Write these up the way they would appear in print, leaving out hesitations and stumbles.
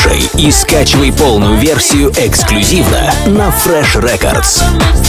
Слушай и скачивай полную версию эксклюзивно на Fresh Records.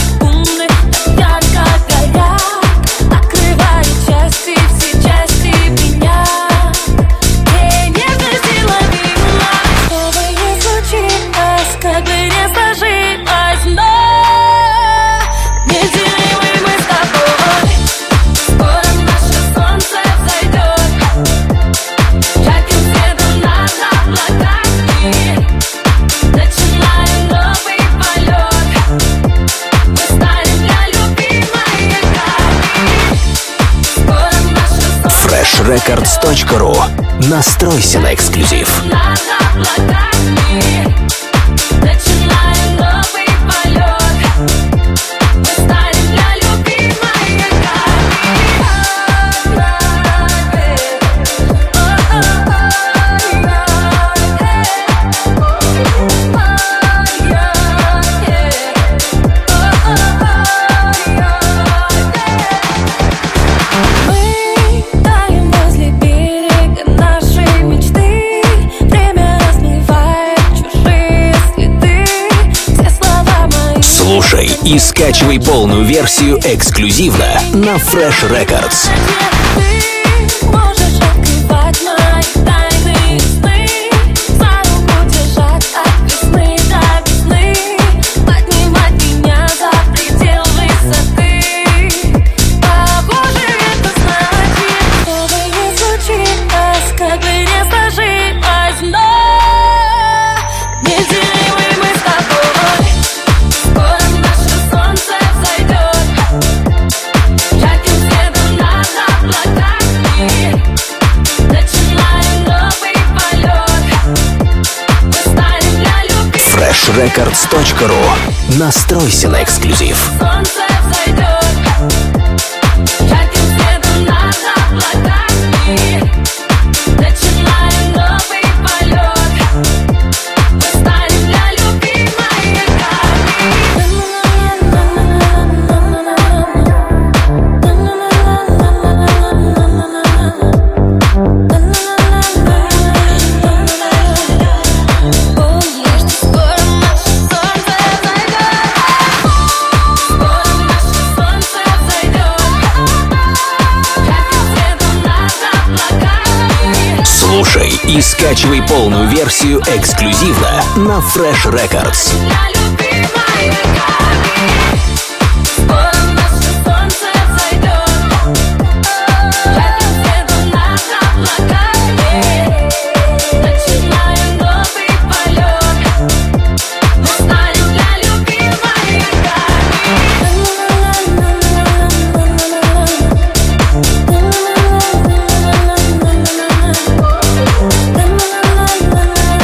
freshrecords.ru. Настройся на эксклюзив. Слушай и скачивай полную версию эксклюзивно на Fresh Records. freshrecords.ru. Настройся на эксклюзив. Слушай и скачивай полную версию эксклюзивно на Fresh Records.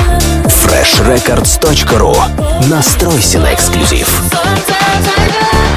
freshrecords.ru. Настройся на эксклюзив.